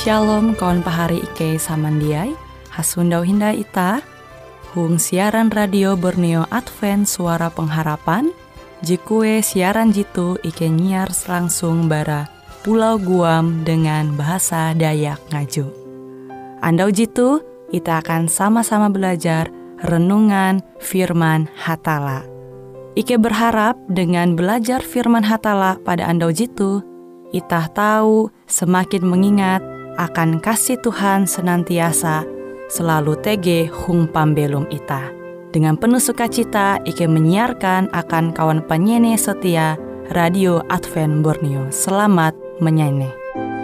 Shalom kawan pahari Ike samandiai, hasundau hinda ita, hung siaran radio Borneo Advent Suara Pengharapan, jikue siaran jitu Ike nyiar langsung bara Pulau Guam dengan bahasa Dayak Ngaju. Andau jitu, kita akan sama-sama belajar renungan firman Hatala. Ike berharap dengan belajar firman Hatala pada andau jitu, kita tahu semakin mengingat akan kasih Tuhan senantiasa selalu tege hung pambelum ita. Dengan penuh sukacita, Ike menyiarkan akan kawan penyanyi setia Radio Advent Borneo. Selamat menyanyi.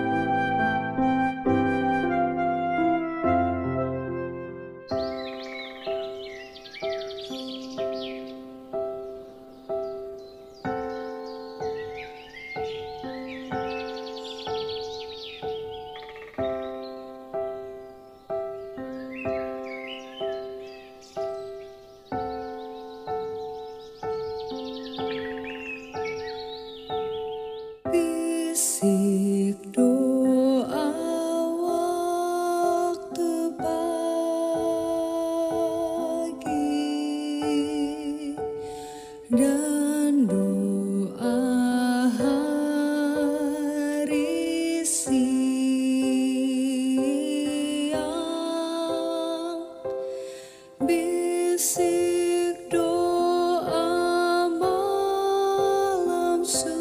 Bisik doa waktu pagi dan doa hari siang. Bisik doa malam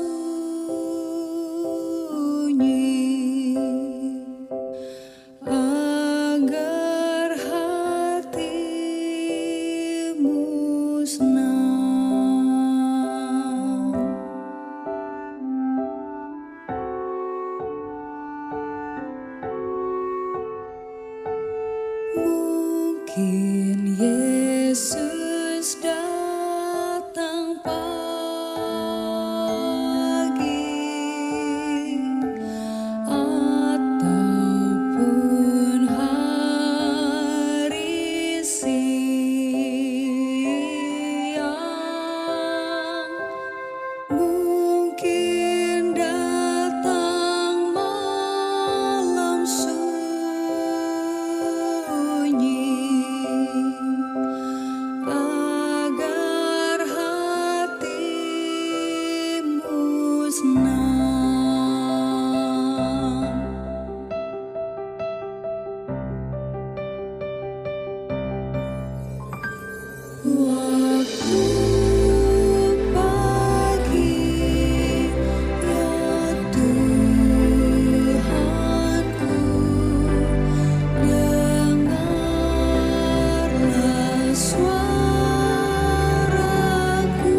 agar hatimu senang. Mungkin Yesus datang pagi ataupun hari siang. Mungkin datang malam sunyi agar hatimu senang. Waktu pagi ya Tuhanku, dengarlah suaraku,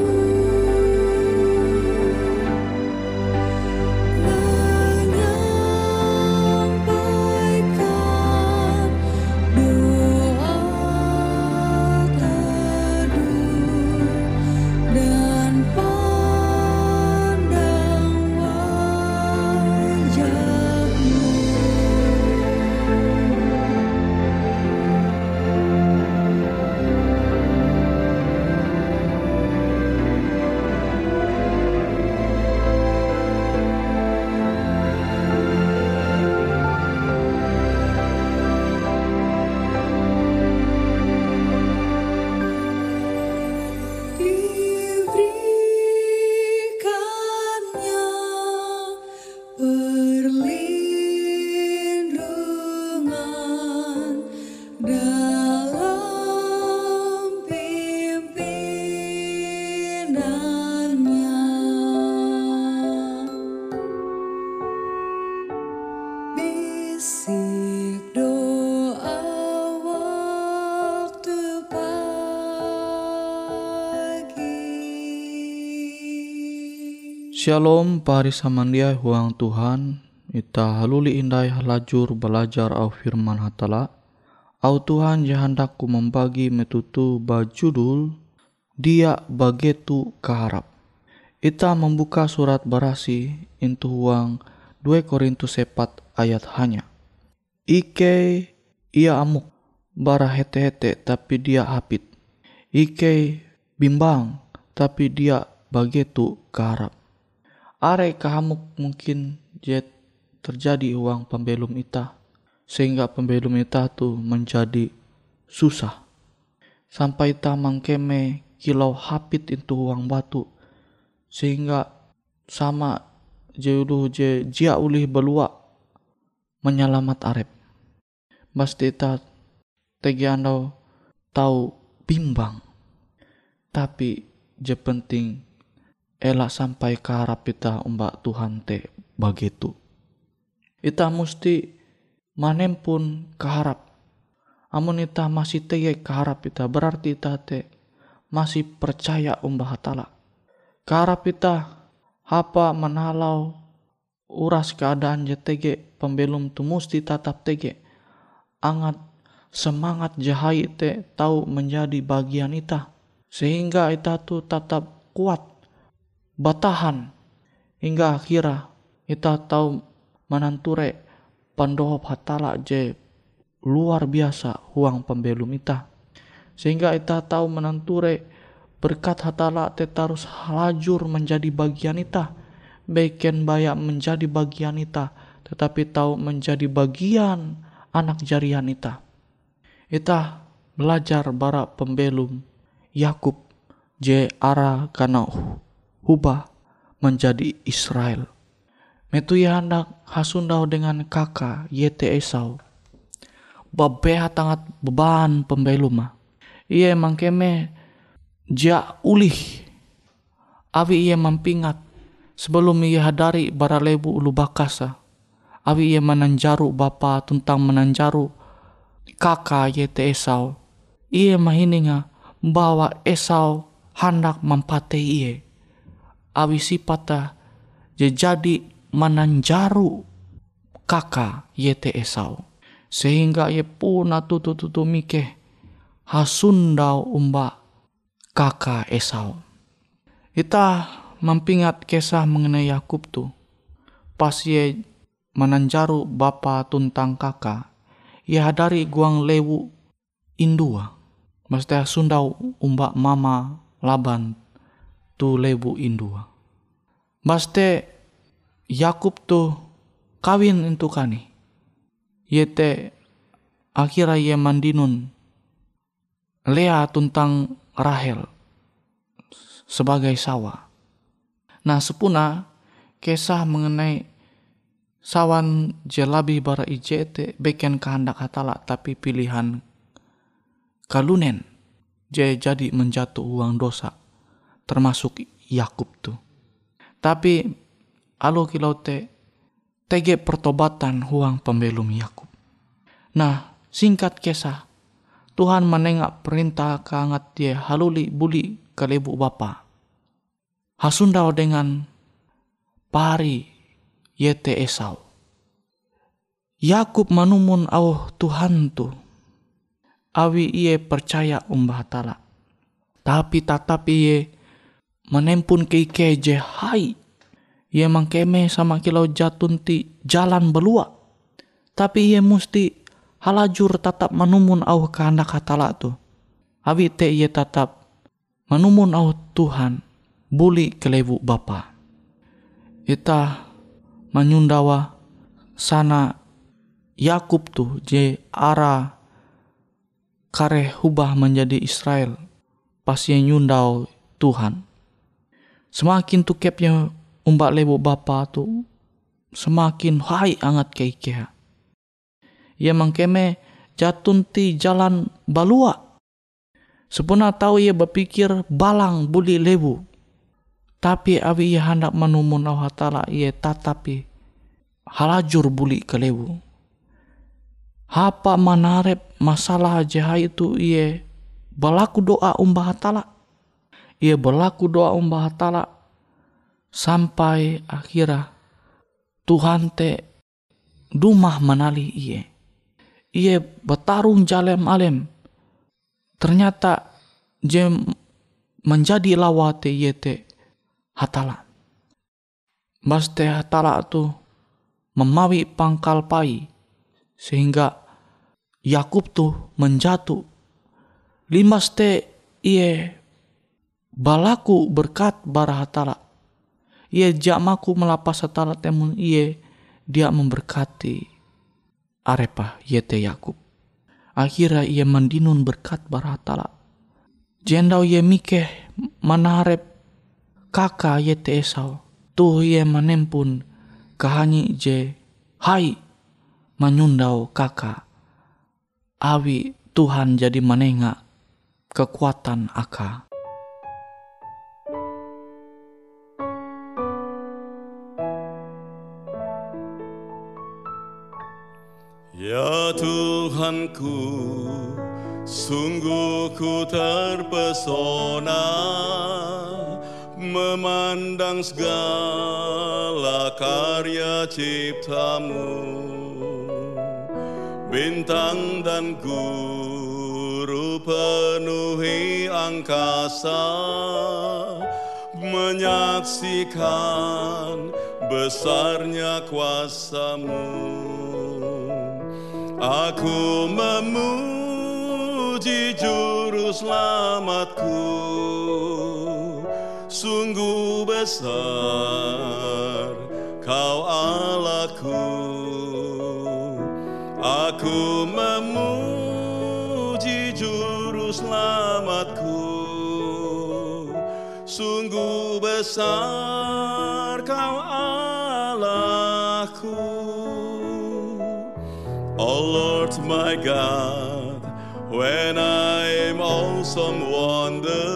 menyampaikan doa teduh dan pandang wajah-Mu. Diberikannya perlindungan dalam pimpinannya. Bisik doa waktu pagi. Shalom pari samandiai huang Tuhan, ita haluli indai halajur belajar au firman Hatala. Au Tuhan jahandaku membagi metutu bajudul dia bagetu keharap. Ita membuka surat barasi intu huang 2 Korintus 4 ayat hanya. Ike ia amuk bara hete-hete tapi dia hapit. Ike bimbang tapi dia bagetu keharap. Are kahamuk mungkin jet terjadi uang pembelum ita, sehingga pembelum ita tuh menjadi susah. Sampai ita mangkeme kilau hapit itu uang batu, sehingga sama jeuduh je jia ulih belua menyelamat arep. Pasti ita tegi andau tahu bimbang, tapi je penting elak sampai ke harap ita umbak Tuhan te begitu. Ita musti manempun keharap. Amun ita masih tege keharap ita, berarti ita te masih percaya umbah hatala. Keharap ita apa menalau uras keadaan je tege pembelum tu musti tetap tege. Angat semangat jahai te tahu menjadi bagian ita, sehingga ita tu tetap kuat batahan hingga akhirnya ita tahu menanture pandohop hatala je luar biasa huang pembelum ita, sehingga ita tahu menanture berkat hatala te tarus halajur menjadi bagian ita, beken bayak menjadi bagian ita, tetapi tahu menjadi bagian anak jarian ita. Ita belajar bara pembelum Yakub je ara kana hubah menjadi Israel. Metu ia hendak hasundau dengan kakak yete Esau. Babea tangat beban pembelum. Ia mangkeme ja ulih. Awi ia mampingat sebelum ia hadari bara lebu ulu bakasa. Awi ia menanjaru bapa tentang menanjaru kakak yete Esau. Ia mahininga bawa Esau hendak mampate ia. Awi sipata jadi menanjaru kakak yete Esau, sehingga ia pun tutu mikeh hasundau umba kakak Esau. Ita mampingat kisah mengenai Yakub tu, pas ia menanjaru bapa tuntang kakak, ia hadari guang lewu indua, mesti sundau umba mama Laban tu lewu indua. Mesti Yakub tu kawin itu kani. Yete akhirnya ia mandinun Lea tuntang Rahel sebagai sawa. Nah sepuna kisah mengenai sawan jelabi bara ijete beken kehendak hatala, tapi pilihan kalunen jadi menjatuh uang dosa, termasuk Yakub tu. Tapi alo kilau tege pertobatan huang pembelum Yakub. Nah singkat kisah, Tuhan menengak perintah keangat dia haluli buli ke lebu bapa. Hasundau dengan pari yete Esau. Yakub manumun au Tuhan tu. Awi iye percaya umbah hatala. Tapi tatap iye menempun keike je hai. Ia mangkeme sama kilau jatun ti jalan belua. Tapi ia musti halajur tetap menumun au kehendak hatala tu. Awi te ia tetap menumun au Tuhan buli kelewu bapa. Ita menyundawa sana Yakub tu je ara kare hubah menjadi Israel pas ia nyundau Tuhan. Semakin tu kepnya umbak lebu bapa tu semakin hai angat keikea. Ia mangkeme jatun ti jalan balua. Sepuna tahu ia berpikir balang buli lebu. Tapi awi ia hendak menumun au hatala ia tatapi halajur buli ke lebu. Hapa manarep masalah jahai itu ia berlaku doa umbah hatala. Ia berlaku doa umbah hatala sampai akhirnya Tuhan te dumah menali ia. Ia bertarung jalem alem. Ternyata je menjadi lawate ia te hatala. Bas te hatala tu memawi pangkal pai sehingga Yakub tu menjatuh. Limas te ia balaku berkat bara hatala. Ia jamaku melapas hatala temun ia dia memberkati arepa yete Yakub. Akhirnya ia mandinun berkat baratala. Jendau ia mikeh manarep kakak yete Esau. Tuh ia menempun kahanyi je hai menyundau kakak. Awi Tuhan jadi menengak kekuatan aka. Ya Tuhanku, sungguh ku terpesona memandang segala karya ciptamu. Bintang dan guru penuhi angkasa, menyaksikan besarnya kuasamu. Aku memuji juru selamatku, sungguh besar kau Allahku. Aku memuji juru selamatku, sungguh besar kau Allahku. Oh Lord my God, when I am awesome wonder,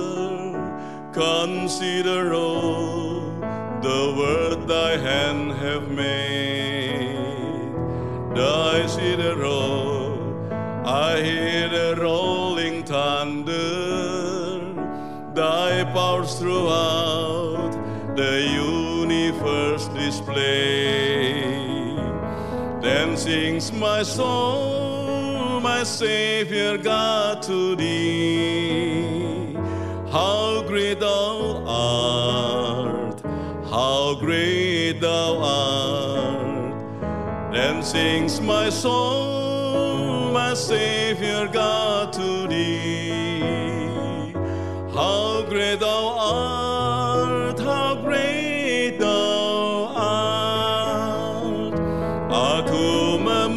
consider all the word thy hand have made. I see the roll, I hear the rolling thunder, thy powers throughout the universe display. Then sings my soul, my Savior God, to thee. How great thou art, how great thou art. Then sings my soul, my Savior God, to thee. How great thou art, how great thou art. Aku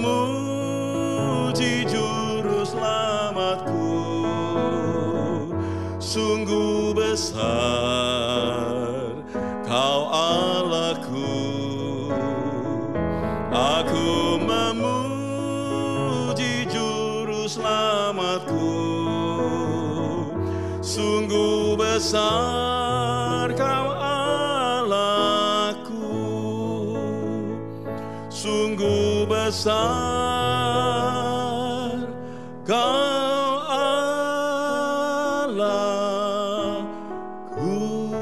memuji juru selamatku, sungguh besar kau Allahku. Aku memuji juru selamatku, sungguh besar kau Allahku. Sungguh besar kau Allahku.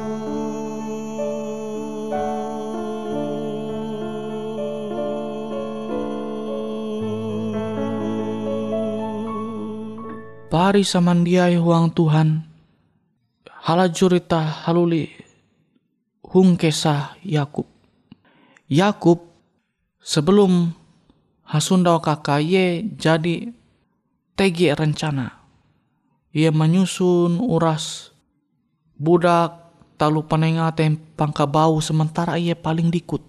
Pari samandiai huang Tuhan, halajurita haluli hung kesah Yakub. Yakub sebelum hasundau kakak ye jadi tegi rencana. Ia menyusun uras budak talu penengaten pangka bau sementara ia paling dikut.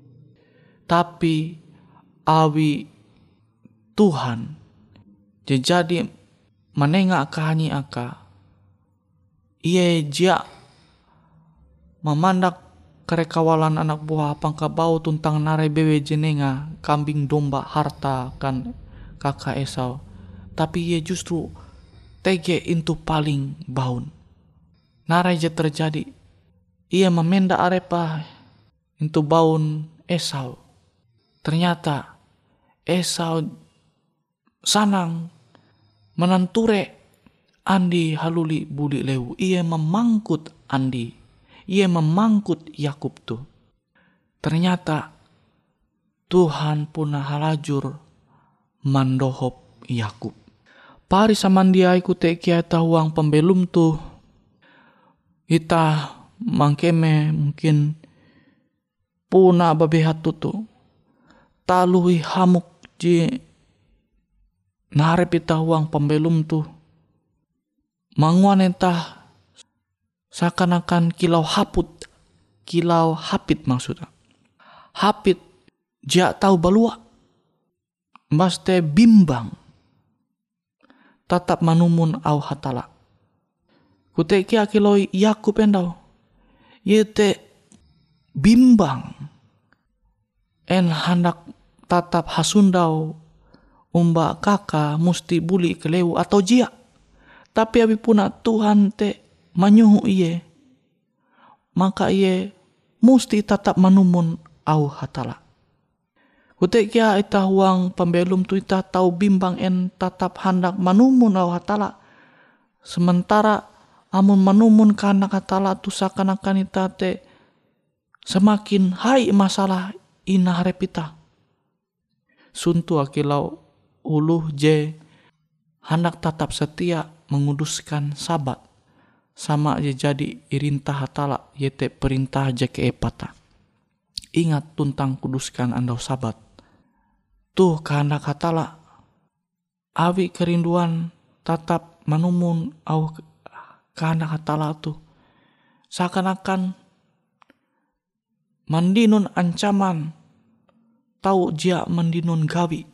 Tapi awi Tuhan jadi menengak kahani aka. Ia jia memandak kerekawalan anak buah pangka bau tuntang narai bewe jenenga kambing domba harta kan kakak Esau. Tapi ia justru tege into paling baun. Narai je terjadi. Ia memenda arepa into baun Esau. Ternyata Esau sanang menanture Andi haluli budi lewu. Ia memangkut Andi. Ia memangkut Yakub tuh. Ternyata Tuhan punah halajur mandohop Yakub. Pari samandia iku teki tahuang pembelum tuh. Ita mangkeme mungkin puna babehat tutu. Talui hamuk ji narep ita huang pembelum tuh. Manguan entah seakan-akan kilau hapit maksudnya. Hapit Jia tahu balua. Baste bimbang. Tatap manumun au hatala. Kute kia kiloi Yakub endau. Yete bimbang. En hendak tatap hasundau umba kaka musti buli keleu atau jia. Tapi abi puna Tuhan te manyuhu iye. Maka iye musti tatap manumun au hatala. Kute kia ita huang pembelum tu ita tahu bimbang en tatap hendak manumun au hatala. Sementara amun manumun kana hatala tu seakan-akan ita te semakin hai masalah ina harepita. Suntu akilau uluh je hendak tatap setia menguduskan sabat. Sama je jadi irintah hatala yete perintah je keepata. Ingat tuntang kuduskan andau sabat. Tuh kehendak hatala. Awi kerinduan tatap manumun au kehendak hatala tuh. Seakan-akan mandinun ancaman. Tahu jia mandinun gawi.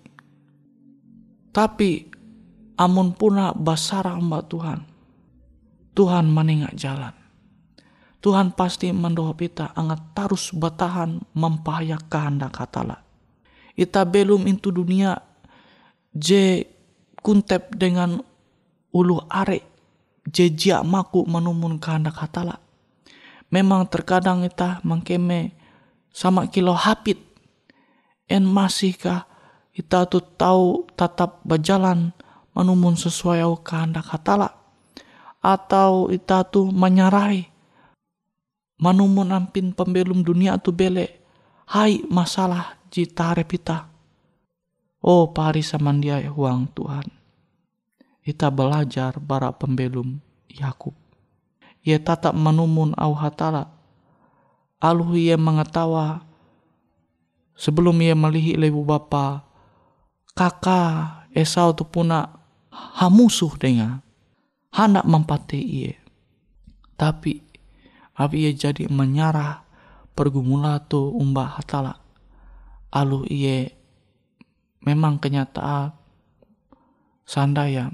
Tapi amun puna basara mbak Tuhan. Tuhan menengak jalan. Tuhan pasti mendohop ita angat tarus batahan mempahayak kehendak hatala. Ita belum into dunia je kuntep dengan ulu are je jia maku menumun kehendak hatala. Memang terkadang ita mangkeme sama kilo hapit. En masihkah ita tu tahu tatap berjalan menumun sesuai au kehendak hatala. Atau ita tu menyarahi manumun ampin pembelum dunia tu bele. Hai masalah jita repita. Oh pari samandiai huang Tuhan. Ita belajar bara pembelum Yakub. Ia tatap manumun au hatala. Aluh ia mengetawa sebelum ia melihi lebu bapa kakak Esau tu puna hamusuh dengan hendak mempati ia. Tapi abi ia jadi menyarah pergumula tu umba hatala. Alu ia memang kenyataan sandaya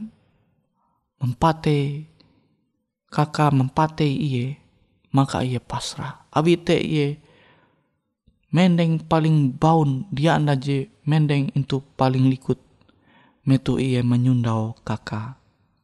mempati kakak mempati ia, maka ia pasrah. Abi te ia mendeng paling baun dia anda je mendeng itu paling likut metu ia menyundau kakak.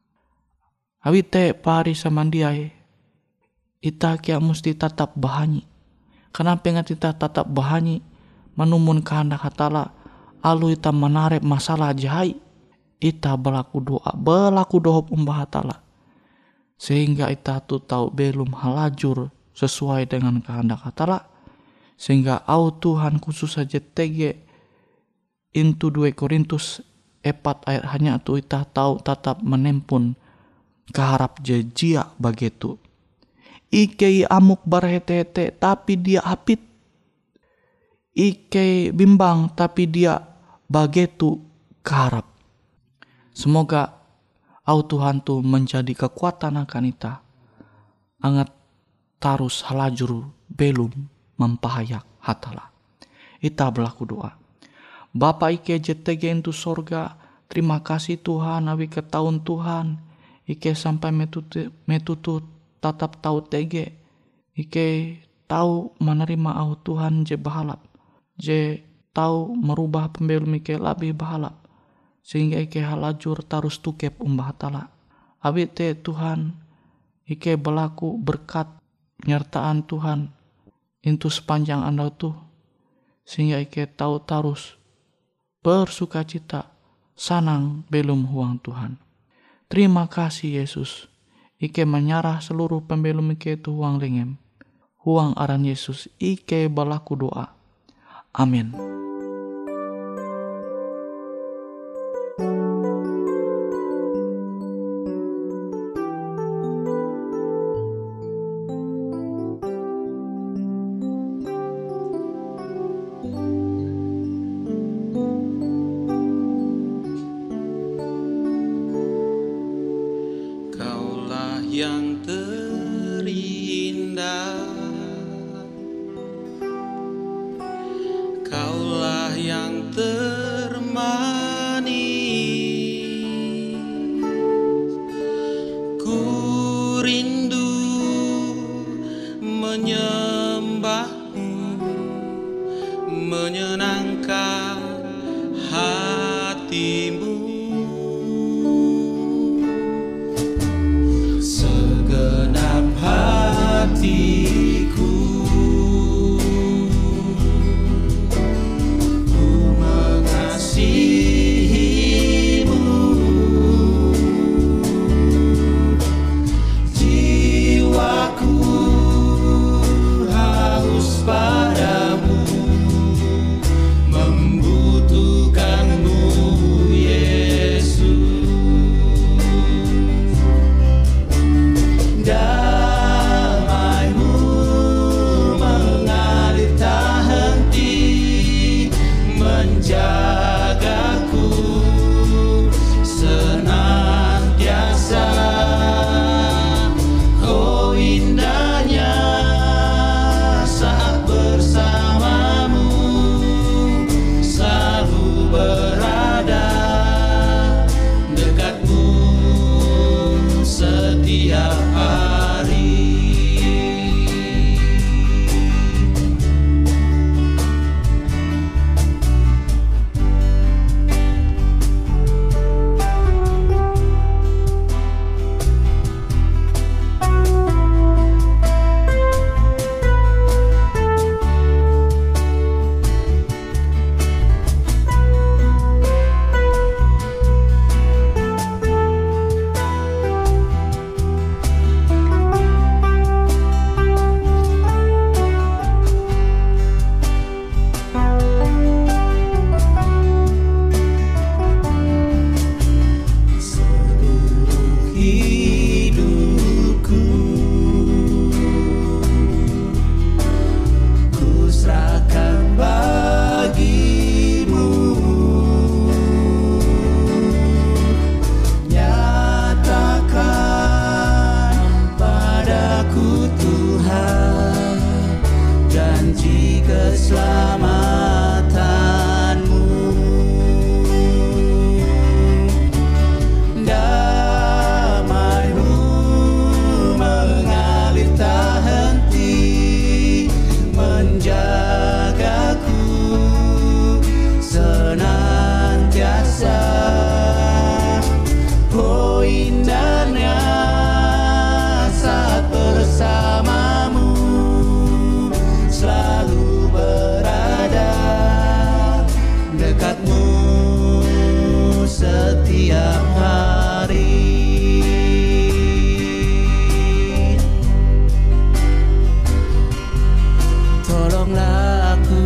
Abi te pari samandiai ita kia musti tatap bahanyi. Kenapa ingat ita tatap bahanyi menumun kehendak hatala. Alu ita menarik masalah jahai. Ita berlaku dohop umbah hatala. Sehingga ita tu tahu belum halajur sesuai dengan kehendak hatala. Sehingga au Tuhan khusus saja tege into 2 Korintus 4 ayat hanya tu ita tahu tatap menempun keharap jejia bagetu. Ike amuk barhete-hete tapi dia hapit. Ike bimbang tapi dia bagetu keharap. Semoga au Tuhan tu menjadi kekuatan akan ita. Angat tarus halajur belum mempahayak hatala. Ita berlaku doa. Bapa ike jetege into sorga. Terima kasih Tuhan awi ketahun Tuhan. Ike sampai metutut tatap tahu tege. Ike tahu menerima au Tuhan je bahalap. Je tahu merubah pembelum ike lebih bahalap. Sehingga ike halajur tarus tukep umbah hatala. Abi te Tuhan ike berlaku berkat penyertaan Tuhan itu sepanjang anda tuh. Sehingga ike tahu tarus bersuka cita sanang belum huang Tuhan. Terima kasih Yesus. Ike menyarah seluruh pembelum ike tu huang lengem. Huang aran Yesus ike berlaku doa. Amin. Yang terindah, Kaulah aku Tuhan, janji keselamatanmu. Damai-Mu mengalir tak henti, menjagaku senantiasa. Oh indahnya saat bersamamu, selalu berada dekatmu setiap hari. Tolonglah aku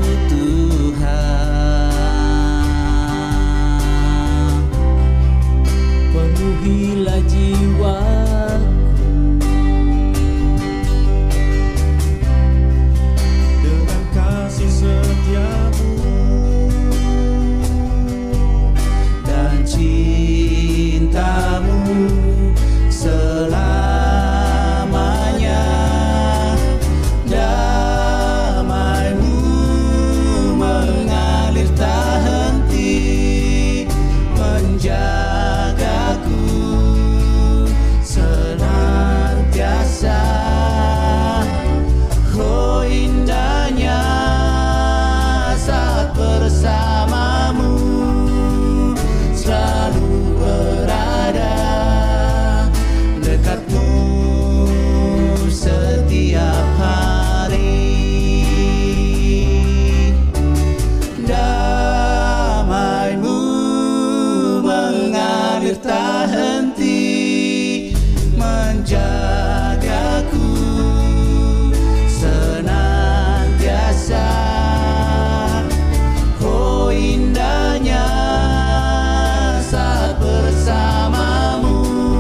Tuhan, penuhilah jiwaku dengan kasih setiamu dan cintamu selamanya. Damai-Mu mengalir tak henti, menjagaku senantiasa. Oh indahnya saat bersamamu, selalu berada dekatmu setiap hari. Damai-Mu mengalir tak henti, menjagaku senantiasa. Oh indahnya saat bersamamu,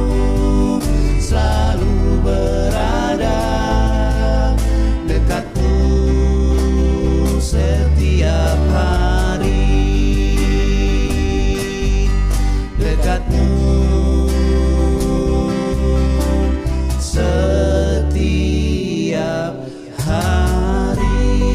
selalu berada dekatmu setiap hari. Dekatmu setiap hari.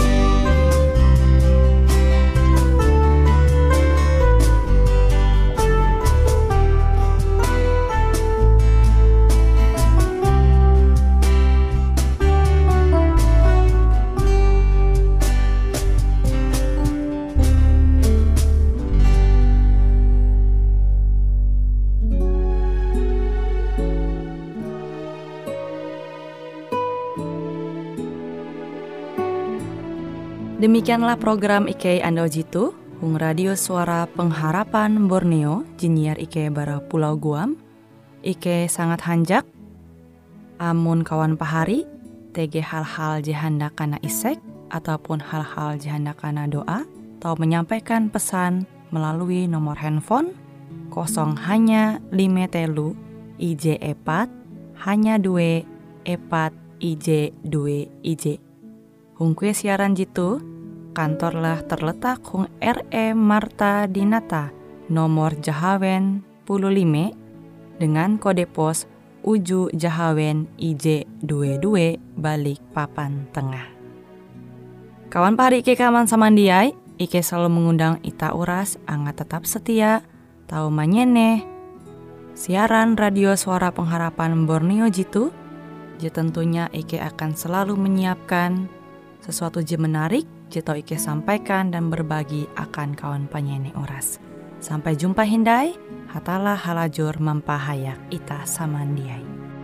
Demikianlah program Ike Ando Jitu, Hung Radio Suara Pengharapan Borneo, Jinnyar Ike bara Pulau Guam. Ike sangat hanjak, amun kawan pahari, TG hal-hal jihanda kana isek, ataupun hal-hal jihanda kana doa, atau menyampaikan pesan melalui nomor handphone 0 hanya 5 telu IJ 4 hanya 2 4 IJ 2 IJ. Hung kue siaran jitu, kantorlah terletak Hung R.E. Marta Dinata, nomor Jahawen 15, dengan kode pos Uju Jahawen IJ22 Balikpapan Tengah. Kawan pahari Ike kaman samandiai, Ike selalu mengundang ita uras angga tetap setia, tahu manyene siaran radio Suara Pengharapan Borneo jitu. Jadi tentunya Ike akan selalu menyiapkan sesuatu je menarik, jito Ike sampaikan dan berbagi akan kawan penyanyi oras. Sampai jumpa hindai, hatalah halajur mampahayak ita samandiai.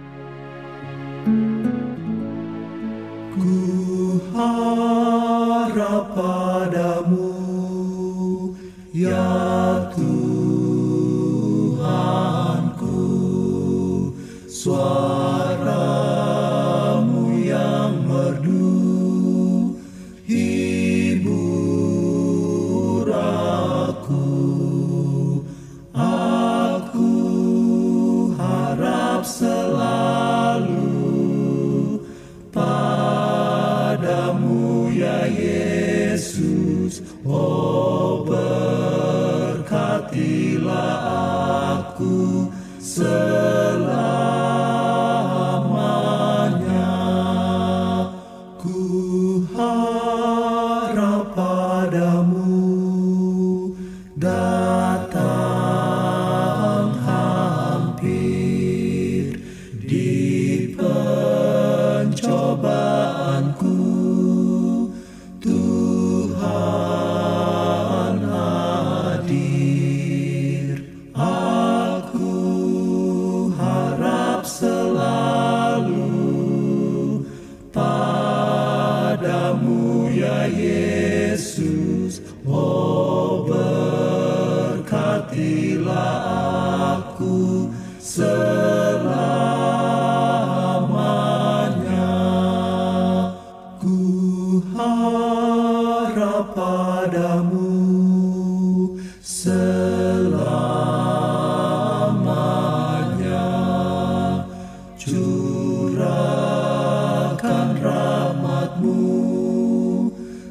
Ku harap padamu, ya Tuhanku, suara-Mu yang merdu hibur aku harap selalu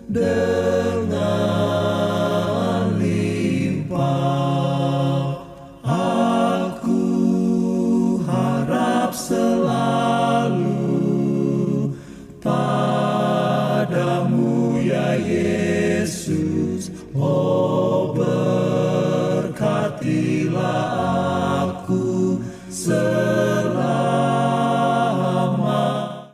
dengan